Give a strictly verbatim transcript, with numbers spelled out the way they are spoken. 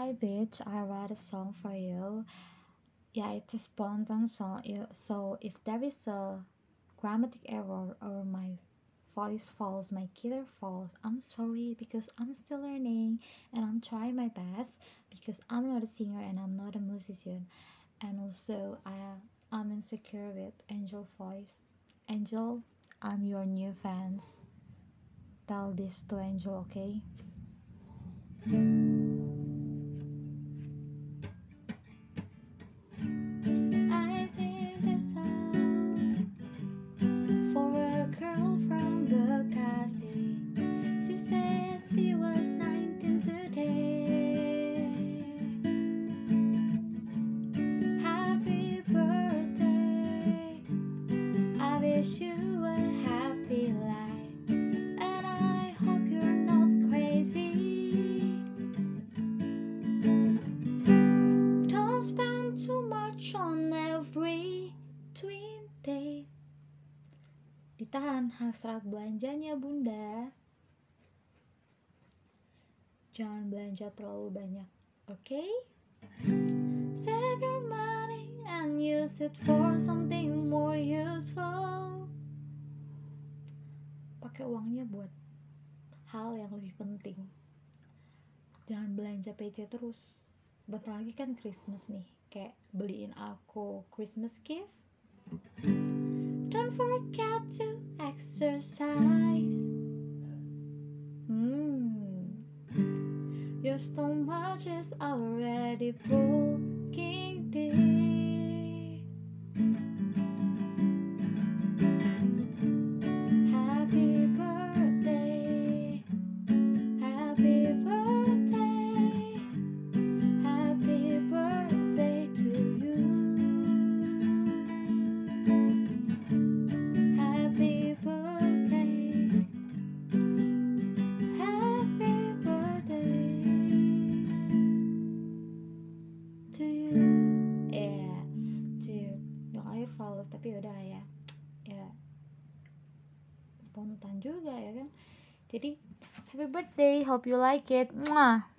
Hi bitch, I write a song for you. Yeah, it's a spontan song. Yeah, so if there is a grammatic error or my voice falls, my guitar falls, I'm sorry because I'm still learning and I'm trying my best because I'm not a singer and I'm not a musician. And also I I'm insecure with Angel voice. Angel, I'm your new fans. Tell this to Angel, okay? I sing this song for a girl from Bekasi. She said she was nineteen today. Happy birthday. I wish you a happy life. And I hope you're not crazy. Don't spend too much on every twin day. Ditahan hasrat belanjanya bunda. Jangan belanja terlalu banyak, oke? Okay? Save your money and use it for something more useful. Pakai uangnya buat hal yang lebih penting. Jangan belanja P C terus. Bentar lagi kan Christmas nih. Kayak beliin aku Christmas gift. Don't forget to exercise. Hmm. Your stomach is already booking day. Happy birthday. Happy birthday. Happy birthday to you. Happy birthday. Happy birthday to you. Yeah, to you. Yang air fals tapi udah ya. Ya spontan juga ya kan. Jadi happy birthday, hope you like it. Mwah.